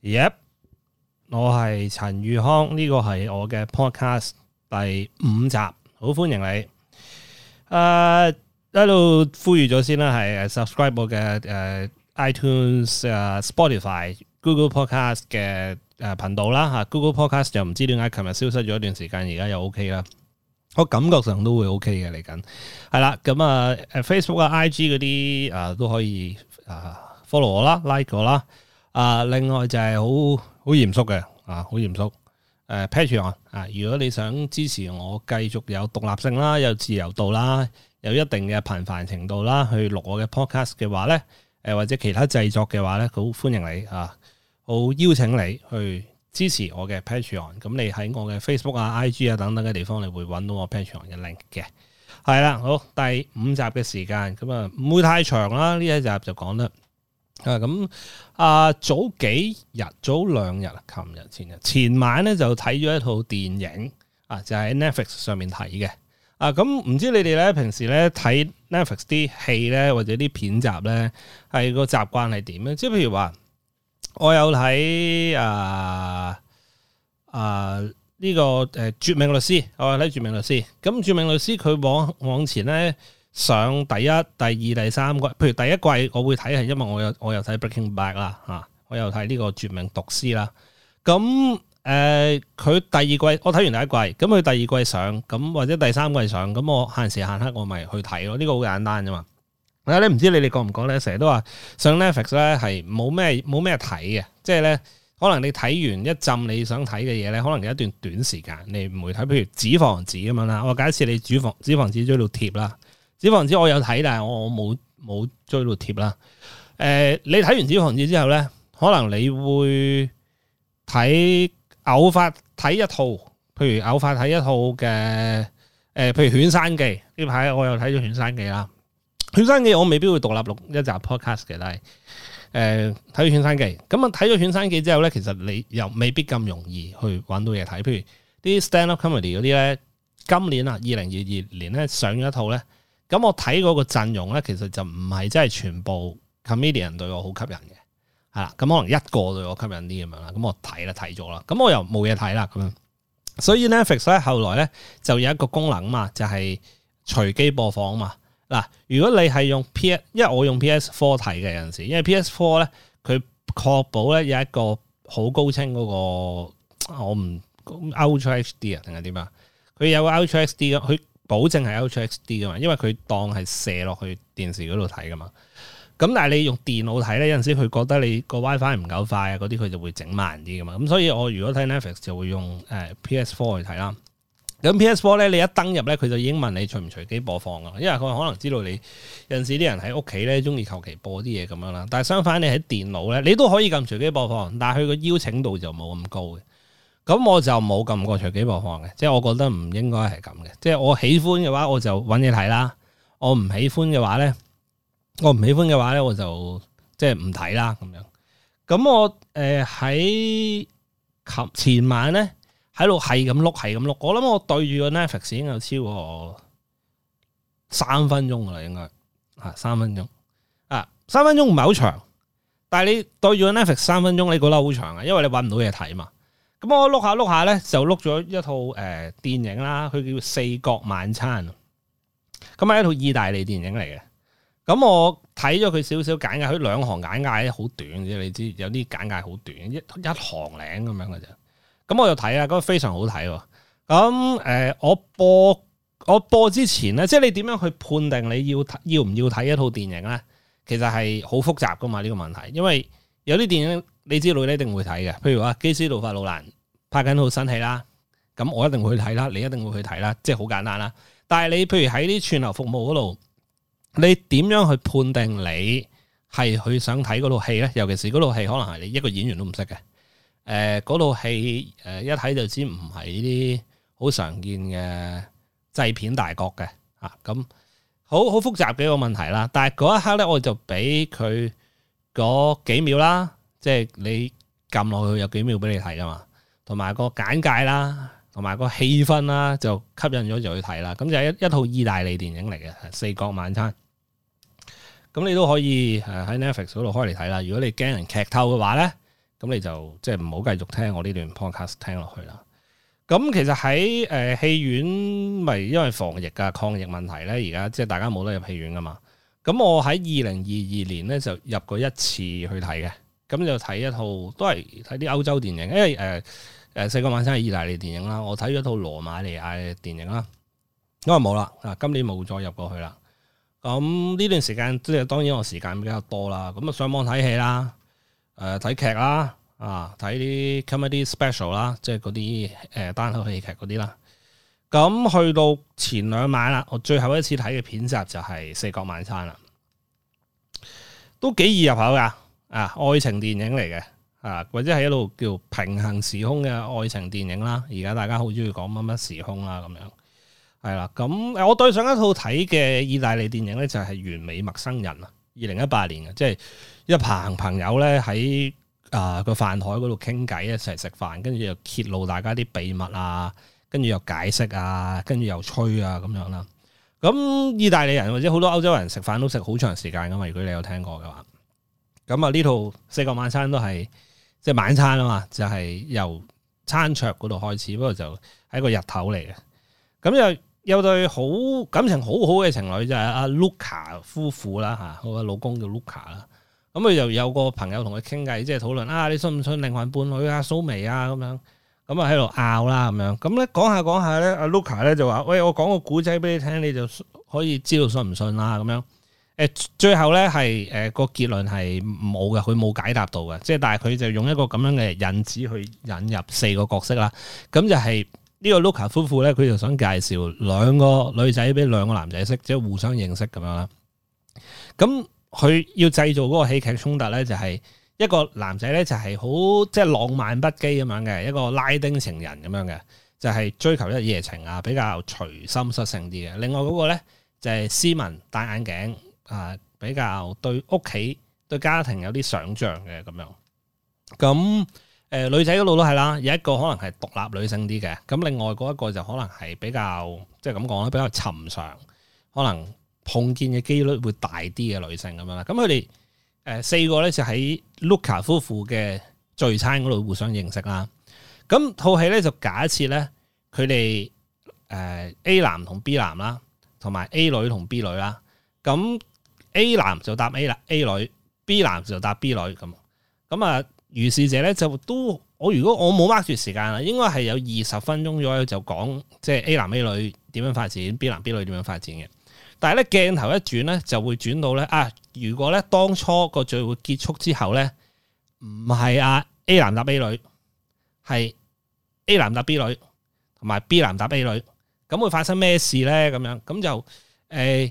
Yep， 我係陳宇康，呢個係我嘅 podcast 第5集，好歡迎你。喺度呼籲咗先啦，係 subscribe 我嘅iTunes、Spotify、Google Podcast 嘅頻道啦嚇。Google Podcast 就唔知點解琴日消失咗一段時間，而家又 OK 啦。我感覺上都會 OK 嘅嚟緊，係啦。咁Facebook 啊、IG 嗰啲都可以follow 我啦、like 我啦。另外就係好嚴肅嘅好嚴肅Patreon 如果你想支持我繼續有獨立性啦、有自由度啦、有一定嘅頻繁程度啦，去錄我嘅 podcast 嘅話咧，或者其他製作嘅話咧，好歡迎你好邀請你去支持我嘅 Patreon。咁你喺我嘅 Facebook IG 等等嘅地方，你會揾到我 Patreon 嘅 link 嘅。係啦，好，第5集嘅時間，咁唔會太長啦，呢一集就講得。早兩日，前晚咧就睇咗一套電影就喺 Netflix 上面睇嘅。咁唔知你哋咧平時咧睇 Netflix 啲戲咧或者啲片集咧係個習慣係點咧？即係譬如話我有睇呢個絕命律師，我有睇絕命律師。咁絕命律師佢往前咧。上第一、第二、第三季，譬如第一季我會睇係因為我有睇 Breaking Bad 啦我有睇呢個絕命毒師啦。咁佢第二季我睇完第一季，咁佢第二季上，咁或者第三季上，咁我限時限刻我咪去睇咯。呢個好簡單啫嘛。你唔知你哋覺唔覺咧？成日都話上 Netflix 咧係冇咩睇嘅，即係咧可能你睇完一浸你想睇嘅嘢咧，可能有一段短時間你唔會睇。譬如紙房子咁樣啦，我假設你紙房子追到貼啦。紙房子我有睇，但係我冇追到貼啦。你睇完紙房子之後咧，可能你會偶發睇一套，譬如偶發睇一套嘅譬如犬山記呢排我又睇咗犬山記啦。犬山記我未必會獨立錄一集 podcast 嘅，但係睇咗犬山記。咁睇咗犬山記之後咧，其實你又未必咁容易去揾到嘢睇。譬如啲 stand up comedy 嗰啲咧，今年2022年咧上咗一套咧。咁我睇嗰個陣容咧，其實就唔係真係全部 comedian 對我好吸引嘅，係啦。咁可能一個對我吸引啲咁樣啦。咁我睇咗啦。咁我又冇嘢睇啦咁樣。所以 Netflix 咧後來咧就有一個功能嘛，就係隨機播放嘛。嗱，如果你係用因為我用 PS4 睇嘅有陣時，因為 PS4 咧佢確保咧有一個好高清嗰個我唔 Ultra HD 定係點啊？佢有個 Ultra HD 佢。保證係 Ultra HD 噶嘛，因為佢當係射落去電視嗰度睇噶嘛。咁但係你用電腦睇咧，有陣時佢覺得你個 WiFi 唔夠快嗰啲，佢就會整慢啲噶嘛。咁所以我如果睇 Netflix 就會用PS4 去睇啦。咁 PS4 咧，你一登入咧，佢就已經問你隨唔隨機播放噶，因為佢可能知道你有陣時啲人喺屋企咧中意求其播啲嘢咁樣啦。但係相反，你喺電腦咧，你都可以撳隨機播放，但係佢個邀請度就冇咁高嘅。咁我就冇撳過隨機播放嘅，即係我覺得唔應該係咁嘅。即係我喜歡嘅話，我就揾嘢睇啦。我唔喜歡嘅話咧，我就即係唔睇啦咁樣。咁我喺前晚咧喺度係咁碌。我諗我對住個 Netflix 已經有超過3分鐘噶啦，應該3分鐘。3分鐘唔係好長，但係你對住個 Netflix 3分鐘，你覺得好長啊？因為你揾唔到嘢睇嘛。咁我碌下咧，就碌咗一套電影啦，佢叫《四國晚餐》。咁係一套意大利電影嚟嘅。咁我睇咗佢少少簡介，佢2行簡介好短啫，你知有啲簡介好短，一行零咁樣嘅啫。咁我就睇啊，嗰個非常好睇。咁我播之前咧，即係你點樣去判定你要唔要睇一套電影咧？其實係好複雜噶嘛呢個問題，因為有啲電影。你知道你一定會睇嘅，譬如話基斯路法魯蘭拍緊套新戲啦，咁我一定會去睇啦，你一定會去睇啦，即係好簡單啦。但係你譬如喺啲串流服務嗰度，你點樣去判定你係去想睇嗰套戲咧？尤其是嗰套戲可能係你一個演員都唔識嘅，嗰套戲一睇就知唔係呢啲好常見嘅製片大國嘅咁好複雜嘅一個問題啦。但係嗰一刻咧，我就俾佢嗰幾秒啦。即係你撳落去有幾秒俾你睇噶嘛，同埋個簡介啦，同埋個氣氛啦，就吸引咗就去睇啦。咁就係一套意大利電影嚟嘅《四國晚餐》。咁你都可以喺 Netflix 嗰度開嚟睇啦。如果你驚人劇透嘅話咧， 咁你就即係唔好繼續聽我呢段 podcast 聽落去啦。咁其實喺戲院咪因為防疫啊抗疫問題咧，而家即係大家冇得入戲院噶嘛。咁我喺2022年咧就入過一次去睇嘅，咁就睇一套都係睇啲歐洲電影，因為四個晚餐係意大利電影啦，我睇咗套羅馬尼亞嘅電影啦，因為冇啦，今年冇再入過去啦。咁呢段時間即係當然我時間比較多啦，咁啊上網睇戲啦，睇劇啦。睇啲 comedy special 啦，即係嗰啲單口喜劇嗰啲啦。咁去到前2晚啦，我最後一次睇嘅片集就係四國晚餐啦，都幾易入口噶。愛情電影嚟嘅，或者係一路叫平行時空嘅愛情電影啦。而家大家好中意講乜乜時空啦，咁樣係啦。咁我對上一套睇嘅意大利電影咧就係《完美陌生人》啊，2018年嘅，即係一棚朋友咧喺個飯台嗰度傾偈，一齊食飯，跟住又揭露大家啲秘密啊，跟住又解釋啊，跟住又吹啊咁樣啦。咁意大利人或者好多歐洲人食飯都食好長時間噶嘛，如果你有聽過嘅話。咁呢套四國晚餐都係即係晚餐啊嘛，就係由餐桌嗰度開始，不過就係個日頭嚟嘅。咁又有對感情好好嘅情侶就係阿 Luca 夫婦啦嚇，我嘅老公叫 Luca 啦。咁佢就有個朋友同佢傾偈，即係討論你信唔信靈魂伴侶啊、蘇眉啊咁樣，咁啊喺度拗啦咁樣。咁咧講下講下咧，阿 Luca 咧就話：喂，我講個古仔俾你聽，你就可以知道信唔信啦咁樣。最後咧係個結論係冇嘅，佢冇解答到嘅。即係但係佢就用一個咁樣嘅引子去引入4個角色啦。咁就係呢個 Luca 夫婦咧，佢就想介紹2個女仔俾2個男仔識，即係互相認識咁樣啦。咁佢要製造嗰個戲劇衝突咧，就係一個男仔咧就係好即係浪漫不羈咁樣嘅一個拉丁情人咁樣嘅，就係追求一夜情啊，比較隨心率性啲嘅。另外嗰個咧就係斯文戴眼鏡比較對屋企對家庭有啲想像嘅咁樣。咁女仔嗰度都係啦，有一個可能係獨立女性啲嘅，咁另外嗰一個就可能係比較即係咁講啦，比較尋常，可能碰見嘅機率會大啲嘅女性咁樣啦。咁佢哋4個咧就喺 Luca 夫婦嘅聚餐嗰度互相認識啦。咁套戲咧就假設咧佢哋A 男同 B 男啦，同埋 A 女同 B 女啦。咁 A 男就答 A 女 ，B 男就答 B 女咁如是者咧就都如果我冇 mark 住時間啦，應該係有20分鐘左右就講即係 A 男 A 女點樣發展，B 男 B 女點樣發展嘅。但係咧鏡頭一轉咧就會轉到咧如果咧當初個聚會結束之後咧唔係A 男答 A 女，係 A 男答 B 女，同埋 B 男答 A 女，咁會發生咩事咧？咁樣咁就呢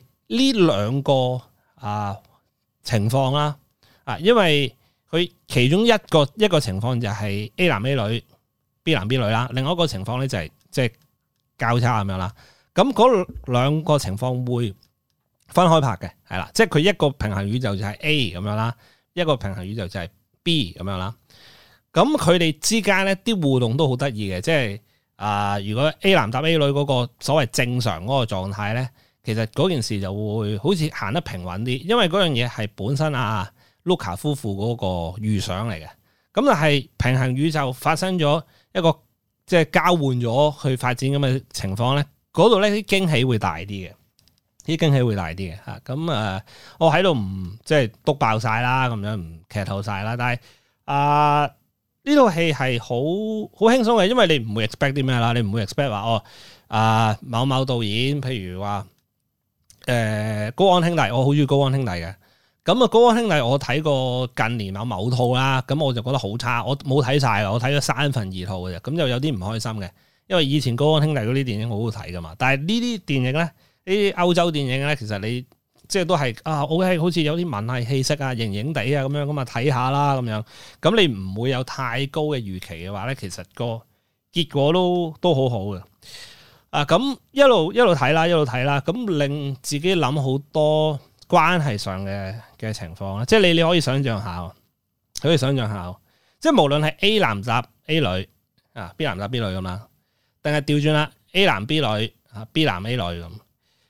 2個情況啦，因為佢其中一個情況就係 A 男 A 女 B 男 B 女啦，另外一個情況咧就係即係交叉咁樣啦。咁嗰2個情況會分開拍嘅，係啦，即係佢一個平行宇宙就係 A 咁樣啦，一個平行宇宙就係 B 咁樣啦。咁佢哋之間咧啲互動都好得意嘅，即係如果 A 男答 A 女嗰個所謂正常嗰個狀態咧，其實嗰件事就會好似行得平穩啲，因為嗰樣嘢係本身Luca 夫婦嗰個預想嚟嘅。咁但係平行宇宙發生咗一個即係交換咗去發展咁嘅情況咧，嗰度咧啲驚喜會大啲嘅，嚇。咁我喺度唔即係篤爆晒啦，咁樣唔劇透晒啦。但係呢套戲係好輕鬆嘅，因為你唔會 expect 啲咩啦，你唔會 expect 話某某導演，譬如話高安兄弟，我好中意高安兄弟嘅。咁高安兄弟我睇過近年某套啦，咁我就覺得好差，我冇睇晒，我睇咗2/3套嘅啫，咁就有啲唔開心嘅，因為以前高安兄弟嗰啲電影好好睇噶嘛，但係呢啲電影咧，呢啲歐洲電影咧，其實你即係都係OK，好似有啲文藝氣息型型地咁樣咁睇下啦咁樣，咁你唔會有太高嘅預期嘅話咧，其實個結果都好好嘅。咁一路睇啦，咁令自己諗好多關係上嘅情況啦，即係你可以想象下，即係無論係 A 男答 A 女，B 男答 B 女咁啦，定係調轉啦 A 男 B 女，B 男 A 女咁，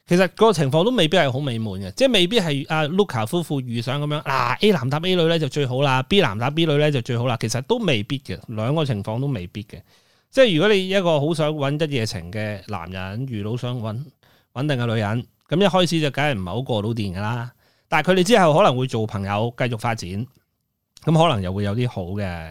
其實個情況都未必係好美滿嘅，即係未必係阿 Luca 夫婦預想咁樣，A 男搭 A 女咧就最好啦，B 男搭 B 女咧就最好啦。其實都未必嘅，兩個情況都未必嘅。即係如果你一個好想揾一夜情嘅男人遇到想揾穩定嘅女人，咁一開始就梗係唔係好過到電噶啦。但係佢哋之後可能會做朋友，繼續發展，咁可能又會有啲好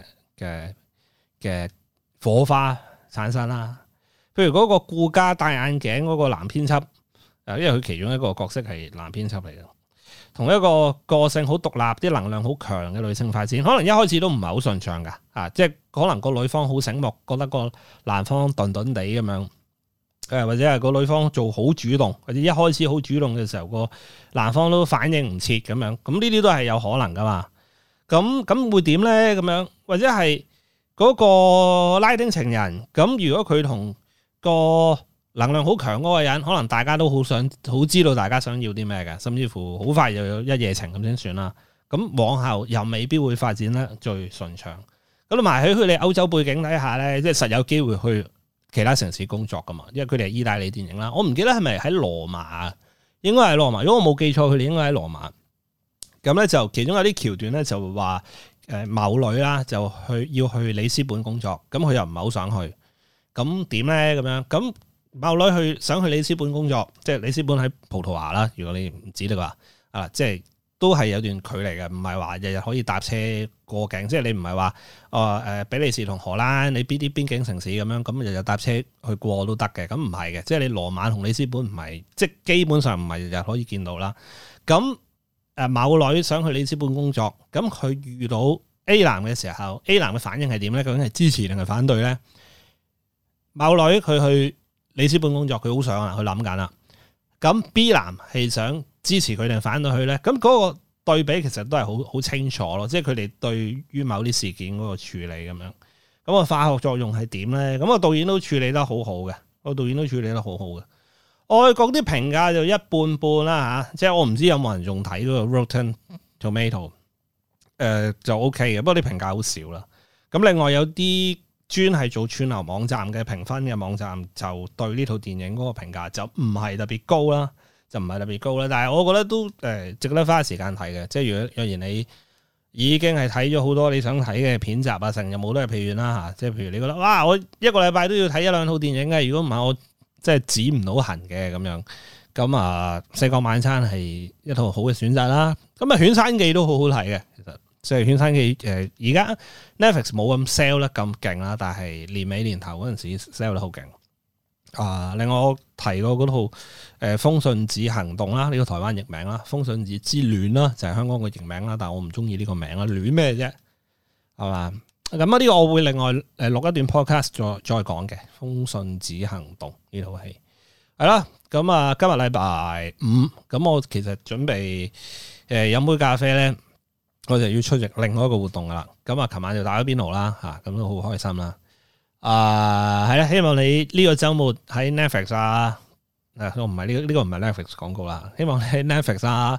嘅火花產生啦。譬如嗰個顧家戴眼鏡嗰個男編輯。因為佢其中一個角色係男編輯嚟嘅，同一個個性好獨立、啲能量好強嘅女性發展，可能一開始都唔係好順暢噶，即係可能個女方好醒目，覺得個男方頓頓地咁樣，或者係個女方做好主動，或者一開始好主動嘅時候，個男方都反應唔切咁樣，咁呢啲都係有可能噶嘛。咁會點咧？咁樣或者係嗰個拉丁情人，咁如果佢同個能量好強嗰個人，可能大家都好知道大家想要啲咩嘅，甚至乎好快就有一夜情咁先算啦。咁往後又未必會發展得最順暢。咁同埋喺佢哋歐洲背景底下咧，即係實有機會去其他城市工作噶嘛，因為佢哋係意大利電影啦。我唔記得係咪喺羅馬，應該係羅馬。如果我冇記錯，佢哋應該喺羅馬。咁咧就其中有啲橋段咧就話某女啦就要去里斯本工作，咁佢又唔係好想去，咁點咧咁樣咁？某女想去里斯本工作，即係里斯本喺葡萄牙啦。如果你唔知的話，即係都係有段距離嘅，唔係話日日可以搭車過境。即係你唔係話比利時同荷蘭你邊啲邊境城市咁樣，咁日日搭車去過都得嘅。咁唔係嘅，即係你羅馬同里斯本唔係，即係基本上唔係日日可以見到啦。咁某女想去里斯本工作，咁佢遇到 A 男嘅時候，A 男嘅反應係點咧？究竟係支持定係反對咧？某女佢去里斯本工作，佢好想啊，佢諗緊啦。咁 B 男係想支持佢定反對佢咧？咁嗰個對比其實都係好清楚咯，即係佢哋對於某啲事件嗰個處理咁樣。咁個化學作用係點咧？咁個導演都處理得好好嘅，外國啲評價就一半半啦嚇，即係我唔知有冇人仲睇嗰個 Rotten Tomato，就 OK 嘅，不過啲評價好少啦。咁另外有啲專係做串流網站嘅評分嘅網站，就對呢套電影嗰個評價就唔係特別高啦，但係我覺得都值得花時間睇嘅。即係若然你已經係睇咗好多你想睇嘅片集啊，成日冇都係戲院啦嚇。即係譬如你覺得哇，我一個禮拜都要睇一兩套電影嘅，如果唔係我即係止唔到痕嘅咁樣。咁啊，四國晚餐係一套好嘅選擇啦。咁啊，犬山記都好好睇嘅，其實。即係犬山記而家 Netflix 冇咁 sell 得咁勁啦，但係年尾年頭嗰陣時 sell 得好勁。另外我提過嗰套風信子行動啦，呢個台灣譯名啦，風信子之戀啦，就係香港嘅譯名啦，但係我唔中意呢個名啦，戀咩啫，係嘛？咁啊，呢個我會另外錄一段 podcast 再講嘅，風信子行動呢套戲係啦。咁啊，今日禮拜五，咁我其實準備飲杯咖啡咧。我就要出席另外一個活動噶啦，咁啊，琴晚就打咗邊爐啦，咁都好開心啦。係啦，希望你呢個周末喺 Netflix 我唔係呢個唔係 Netflix 廣告啦，希望你喺 Netflix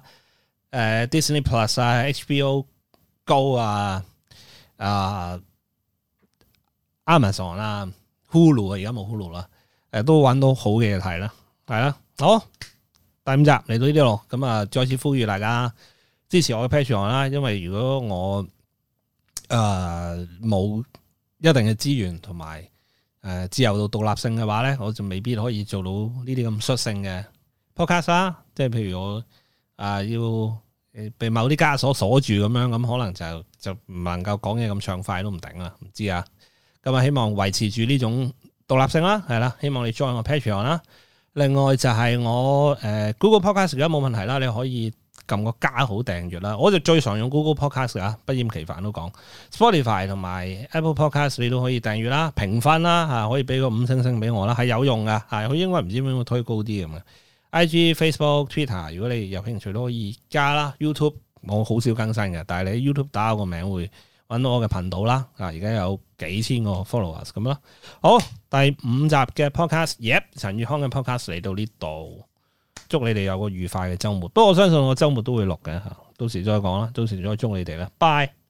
Disney Plus HBO Go Amazon 啦 Hulu 而家冇 Hulu 啦，都揾到好嘅嘢睇啦，係啦，好，第5集嚟到呢啲咯，咁啊，再次呼籲大家支持我嘅 Patreon 啦，因為如果我冇一定嘅資源同埋自由度獨立性嘅話咧，我就未必可以做到呢啲咁率性嘅 podcast 啦。即係譬如我要被某啲枷鎖鎖住咁樣，咁可能就唔能夠講嘢咁暢快都唔定啦，唔知啊。咁啊，希望維持住呢種獨立性啦，係啦，希望你 join 我 Patreon 啦。另外就係我Google Podcast 而家冇問題啦，你可以撳個加號訂閱啦，我就最常用 Google Podcast 啊，不厭其煩都講 Spotify 同埋 Apple Podcast 你都可以訂閱啦，評分啦可以俾個5星俾我啦，係有用噶，佢應該唔知點樣推高啲咁嘅。IG、Facebook、Twitter 如果你有興趣都可以加啦。YouTube 我好少更新嘅，但係你喺 YouTube 打我個名會揾到我嘅頻道啦。而家有幾千個 followers 咁啦。好，第5集嘅 podcast，陳宇康嘅 podcast 嚟到呢度。祝你哋有個愉快嘅週末，不過我相信我週末都會錄嘅，到時再講啦，到時再祝你哋啦，拜。